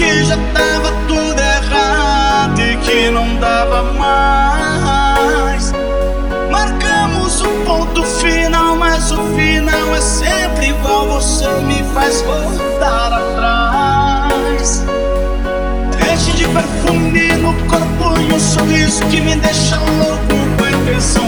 que já tava tudo errado e que não dava mais. Marcamos um ponto final, mas o final é sempre igual. Você me faz voltar atrás. Enche de perfume no corpo e um sorriso que me deixa louco com a intenção